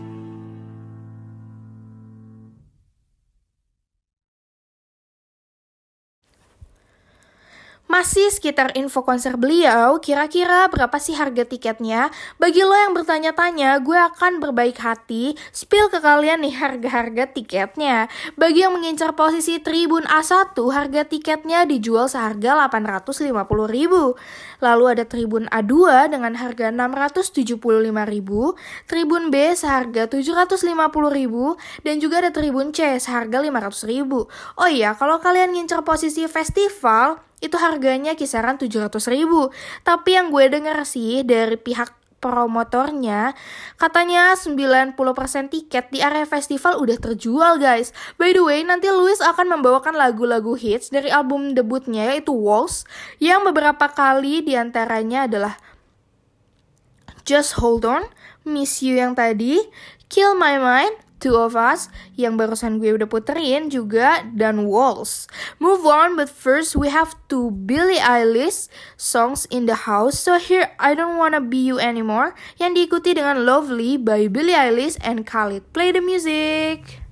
Masih sekitar info konser beliau, kira-kira berapa sih harga tiketnya? Bagi lo yang bertanya-tanya, gue akan berbaik hati spill ke kalian nih harga-harga tiketnya. Bagi yang mengincar posisi Tribun A satu, harga tiketnya dijual seharga delapan ratus lima puluh ribu. Lalu ada Tribun A dua dengan harga enam ratus tujuh puluh lima ribu, Tribun B seharga tujuh ratus lima puluh ribu, dan juga ada Tribun C seharga lima ratus ribu. Oh iya, kalau kalian ngincar posisi festival, itu harganya kisaran tujuh ratus ribu. Tapi yang gue denger sih dari pihak promotornya, katanya sembilan puluh persen tiket di area festival udah terjual guys. By the way, nanti Louis akan membawakan lagu-lagu hits dari album debutnya yaitu Walls, yang beberapa kali diantaranya adalah Just Hold On, Miss You yang tadi, Kill My Mind, Two of Us yang barusan gue udah puterin juga, dan Walls. Move on, but first we have two Billie Eilish songs in the house. So here I Don't Wanna Be You Anymore yang diikuti dengan Lovely by Billie Eilish and Khalid. Play the music.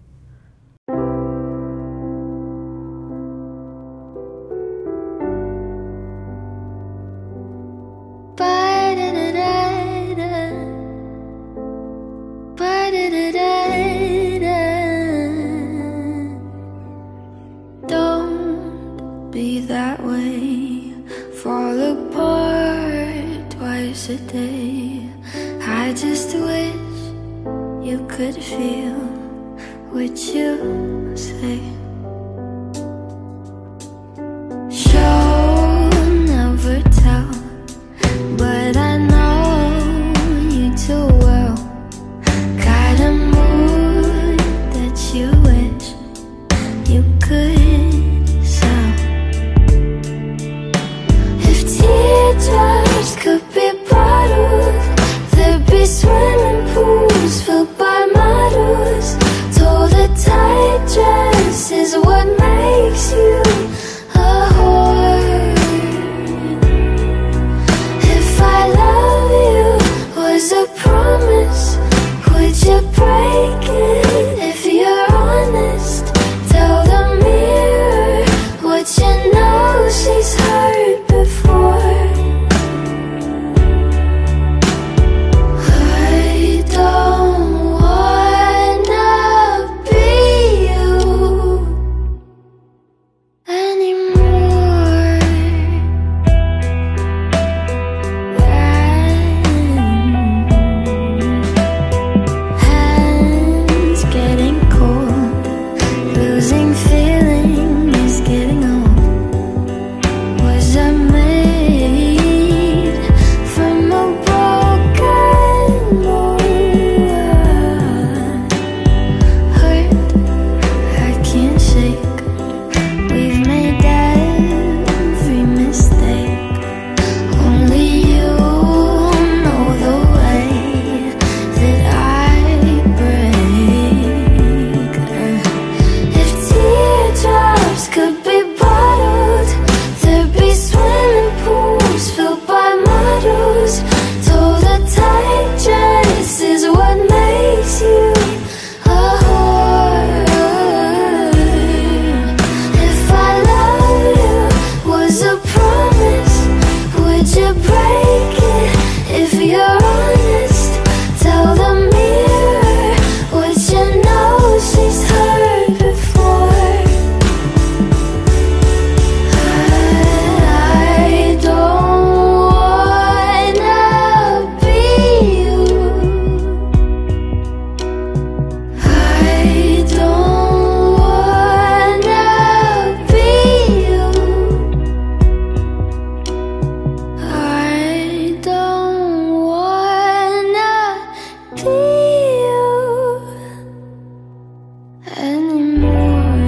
Be that way, fall apart twice a day. I just wish you could feel what you say. Show never tell, but I know you too well. Got a mood that you wish you could. Teardrops could be bottles, there'd be swimming pools filled by models. Told a tight dress promise, would you break it? If you're honest, tell the mirror what you know she's heard before. I don't wanna be you anymore. Hands getting cold, losing feeling is getting old. Was I made from a broken mold? Hurt, I can't shake. We've made every mistake. Only you know the way that I break. If teardrops could be bottled, there'd be swimming pools filled by models. Told a tight dress is what makes you a whore. If I love you was a promise, would you break it? If you're honest, tell the mirror what you know she's heard before. I don't wanna be you. I don't wanna be you. I don't wanna be you anymore.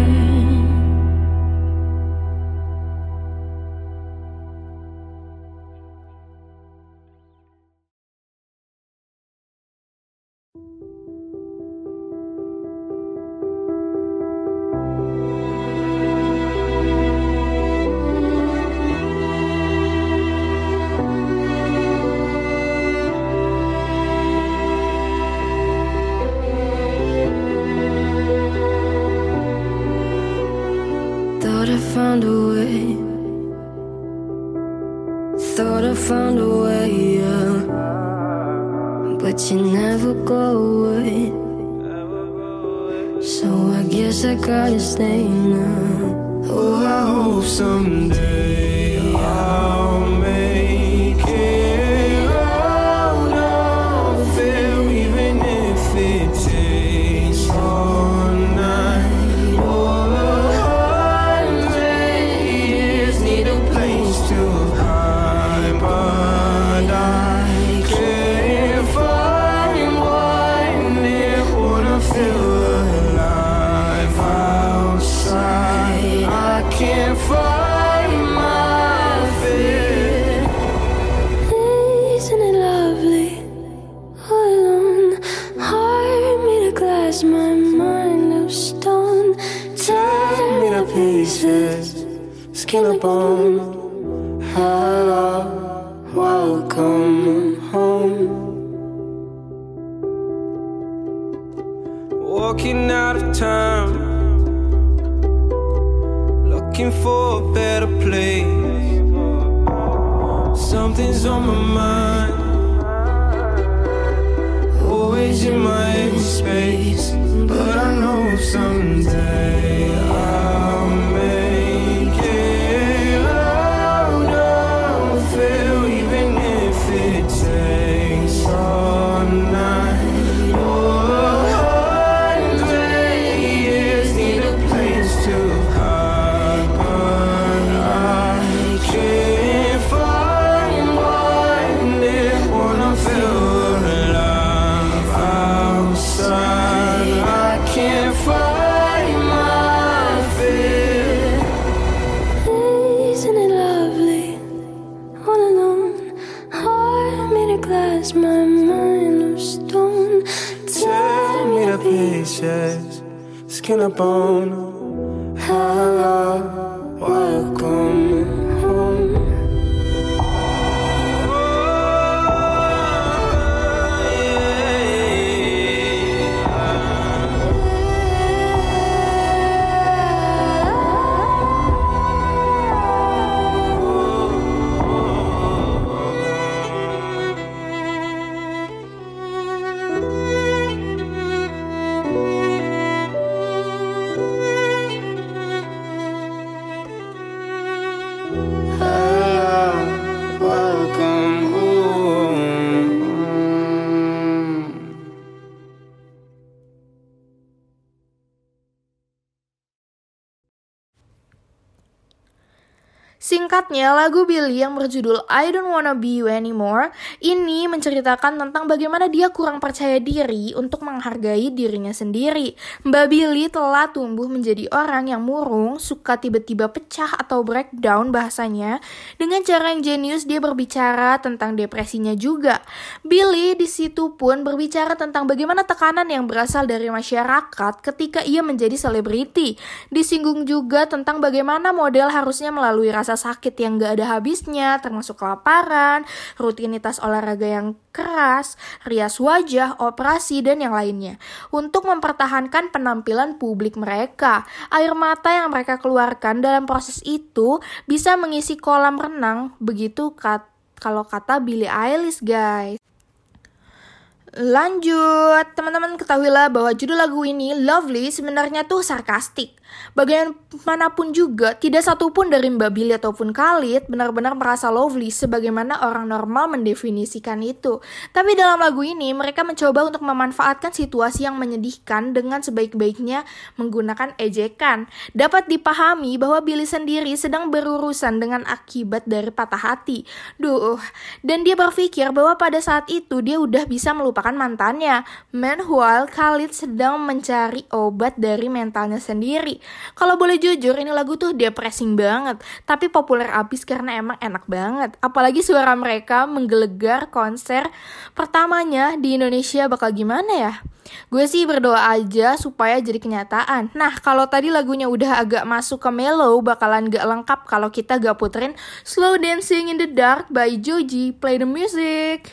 Thought I found a way. Thought I found a way, yeah. But you never go away. So I guess I gotta stay now. Oh, I hope someday I'll make it out of there, even if it takes all night or a hundred years. Need a place to hide, but I can't find one near. Wanna feel alive outside. I can't find my fear. Isn't it lovely? All alone, heart made of glass, my mind of stone. Tear me to pieces, skin and bone. Hello, welcome home. Walking out of town, looking for a better place. Something's on my mind, always in my empty space. But I know someday I'll make it out of here, even if it takes all night or a hundred years. Need a place to hide, but I can't find one near. Wanna feel alive outside. I can't find my fear. Isn't it lovely? All alone, heart made of glass, my mind of stone. Tear me to pieces, skin and bone. Hello, welcome home. Oh, yeah. Singkatnya, lagu Billie yang berjudul I Don't Wanna Be You Anymore ini menceritakan tentang bagaimana dia kurang percaya diri untuk menghargai dirinya sendiri. Mbak Billie telah tumbuh menjadi orang yang murung, suka tiba-tiba pecah atau breakdown bahasanya. Dengan cara yang jenius dia berbicara tentang depresinya juga. Billie di situ pun berbicara tentang bagaimana tekanan yang berasal dari masyarakat ketika ia menjadi selebriti. Disinggung juga tentang bagaimana model harusnya melalui rasa sakit yang gak ada habisnya, termasuk kelaparan, rutinitas olahraga yang keras, rias wajah, operasi, dan yang lainnya, untuk mempertahankan penampilan publik mereka. Air mata yang mereka keluarkan dalam proses itu bisa mengisi kolam renang, begitu kat- kalau kata Billie Eilish, guys. Lanjut, teman-teman ketahuilah bahwa judul lagu ini, Lovely, sebenarnya tuh sarkastik. Bagaimanapun juga, tidak satupun dari Mbak Billie ataupun Khalid benar-benar merasa lovely sebagaimana orang normal mendefinisikan itu. Tapi dalam lagu ini, mereka mencoba untuk memanfaatkan situasi yang menyedihkan dengan sebaik-baiknya menggunakan ejekan. Dapat dipahami bahwa Billie sendiri sedang berurusan dengan akibat dari patah hati. Duh, dan dia berpikir bahwa pada saat itu dia udah bisa melupakan mantannya. Meanwhile, Khalid sedang mencari obat dari mentalnya sendiri. Kalau boleh jujur, ini lagu tuh depressing banget, tapi populer abis karena emang enak banget. Apalagi suara mereka menggelegar konser pertamanya di Indonesia bakal gimana ya? Gue sih berdoa aja supaya jadi kenyataan. Nah, kalau tadi lagunya udah agak masuk ke mellow, bakalan gak lengkap kalau kita gak puterin Slow Dancing in the Dark by Joji. Play the music.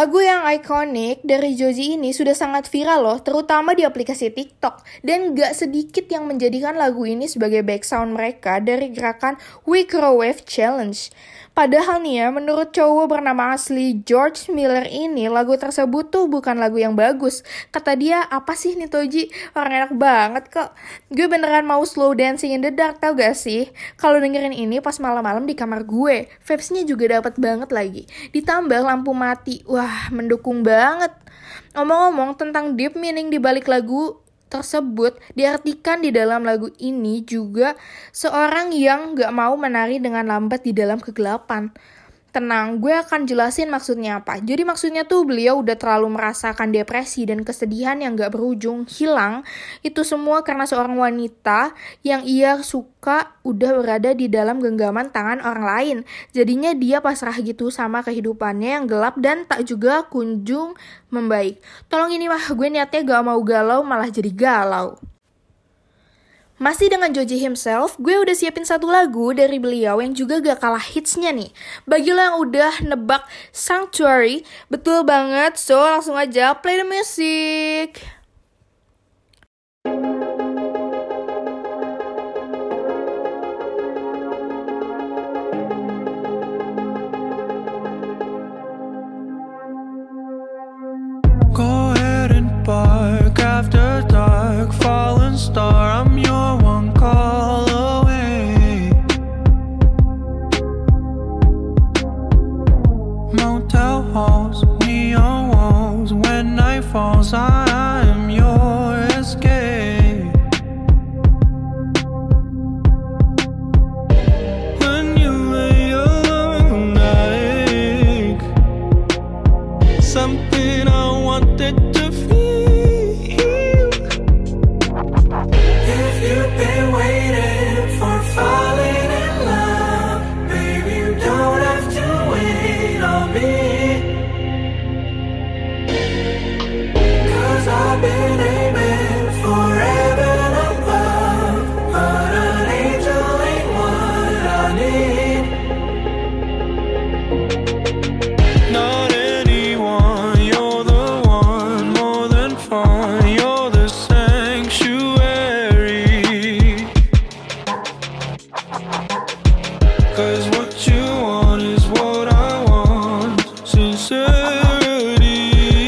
Lagu yang ikonik dari Joji ini sudah sangat viral loh, terutama di aplikasi TikTok. Dan gak sedikit yang menjadikan lagu ini sebagai background mereka dari gerakan We Grow Wave Challenge. Padahal nih ya, menurut cowok bernama asli George Miller ini, lagu tersebut tuh bukan lagu yang bagus. Kata dia, apa sih nih Toji? Orang enak banget kok. Gue beneran mau slow dancing in the dark, tau gak sih? Kalau dengerin ini pas malam-malam di kamar gue, vibes-nya juga dapat banget lagi. Ditambah lampu mati, wah mendukung banget. Ngomong-ngomong tentang deep meaning di balik lagu tersebut, diartikan di dalam lagu ini juga seorang yang gak mau menari dengan lambat di dalam kegelapan. Tenang, gue akan jelasin maksudnya apa. Jadi maksudnya tuh beliau udah terlalu merasakan depresi dan kesedihan yang gak berujung hilang. Itu semua karena seorang wanita yang ia suka udah berada di dalam genggaman tangan orang lain. Jadinya dia pasrah gitu sama kehidupannya yang gelap dan tak juga kunjung membaik. Tolong ini mah gue niatnya gak mau galau malah jadi galau. Masih dengan Joji himself, gue udah siapin satu lagu dari beliau yang juga gak kalah hitsnya nih. Bagi lo yang udah nebak Sanctuary, betul banget, so langsung aja play the music. Go ahead and bark after dark, fallen star, I'm your one call away. Motel halls, neon walls, when night falls, I am your escape. When you lay alone, I ache. Something I wanted to feel. If you've been waiting for falling in love, baby, you don't have to wait on me. Cause I've been aiming for heaven above, but an angel ain't what I need. Not anyone, you're the one, more than fun, you're the sanctuary. Cause what you want is what I want, sincerity.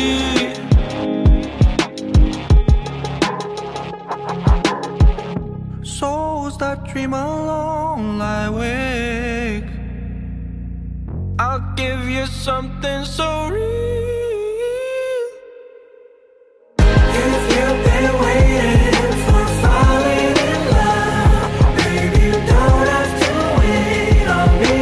Souls that dream alone lie awake, I'll give you something so real. If you've been waiting for falling in love, baby, you don't have to wait on me.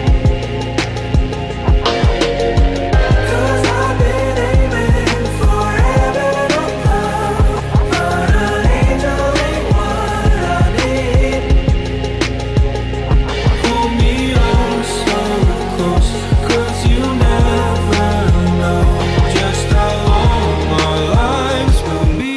Cause I've been aiming for heaven above, but an angel ain't what I need. Hold me on so close, cause you never know just how long our lives will be.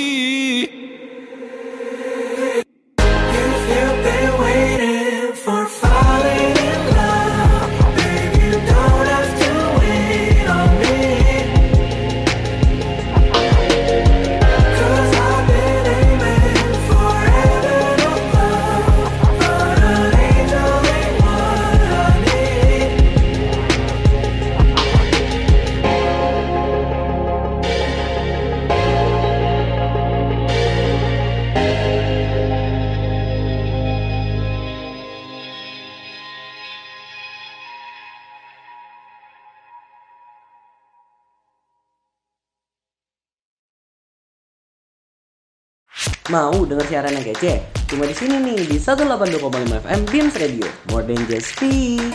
If you've been waiting for falling in love, baby, you don't have to wait on me. Cause I've been aiming for heaven above, but an angel ain't what I need. Mau denger siaran yang kece? Cuma di sini nih di seratus delapan puluh dua koma lima F M Beams Radio, more than just speak.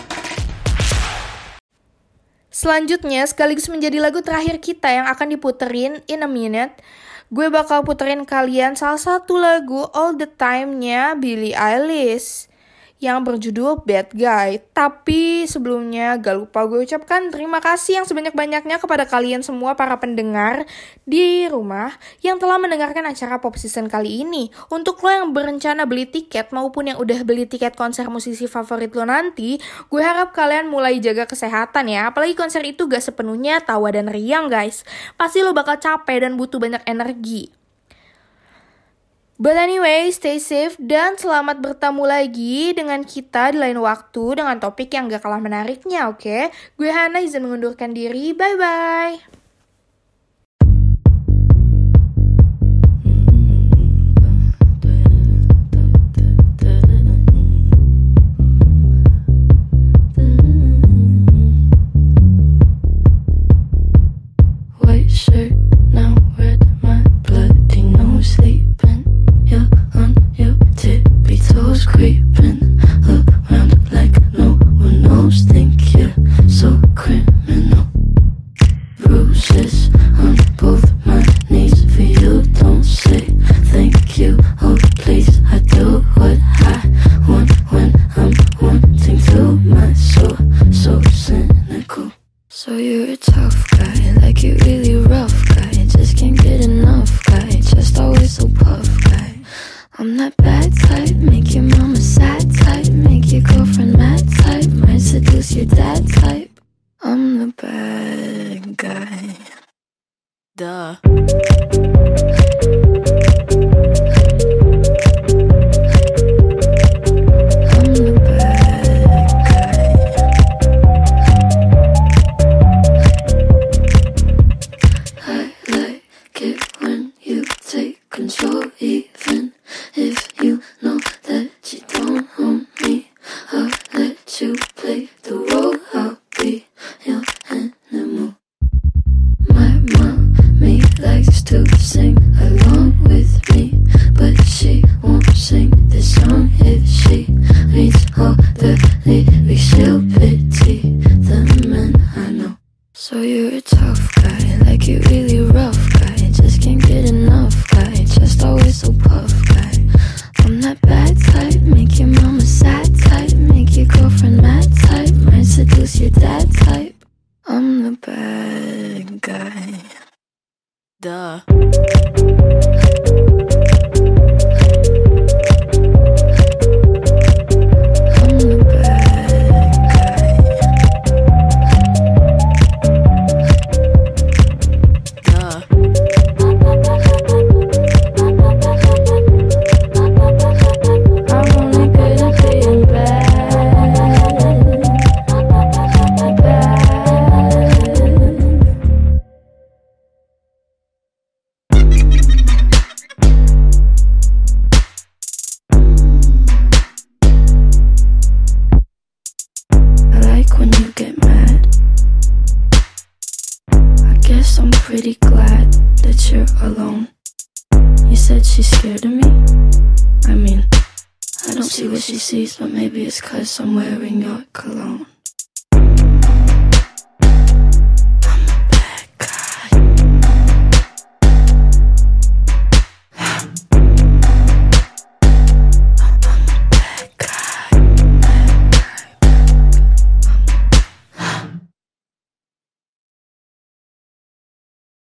Selanjutnya, sekaligus menjadi lagu terakhir kita yang akan diputerin in a minute, gue bakal puterin kalian salah satu lagu All the Time-nya Billie Eilish. yang berjudul Bad Guy. Tapi sebelumnya gak lupa gue ucapkan terima kasih yang sebanyak-banyaknya kepada kalian semua para pendengar di rumah yang telah mendengarkan acara Pop Season kali ini. Untuk lo yang berencana beli tiket maupun yang udah beli tiket konser musisi favorit lo nanti, gue harap kalian mulai jaga kesehatan ya. Apalagi konser itu gak sepenuhnya tawa dan riang guys. Pasti lo bakal capek dan butuh banyak energi. But anyway, stay safe dan selamat bertemu lagi dengan kita di lain waktu dengan topik yang gak kalah menariknya, oke? Okay? Gue Hana izin mengundurkan diri, bye-bye! Creeping around like no one knows. Think you're so criminal. Bruises on both my knees for you. Don't say thank you. Oh please, I do what I want when I'm wanting to. My soul so cynical. So you're a tough guy, like you really rough guy. Just can't get enough guy. Just always so puff guy. I'm that bad type, make your mama sad type, make your girlfriend mad type, might seduce your dad type. I'm the bad guy. Duh. I'm the bad guy. I like it when you take control, even if you know that you don't own me. I'll let you play the role, I'll be your animal. My mommy likes to sing along with me, but she won't sing this song if she reads all the lyrics. She'll pity the men I know. So you're a tough guy, like you really rough guy. Just can't get enough guy, just always so puff guy. I'm that bad type, make your mama sad type, make your girlfriend mad type, might seduce your dad type. I'm the bad guy. Duh. I'm the bad guy. Duh. I'm only good at being bad. Bad. I like when you get mad. I guess I'm pretty glad that you're alone. You said she's scared of me? I mean, I don't see what she sees, but maybe it's 'cause I'm wearing your cologne.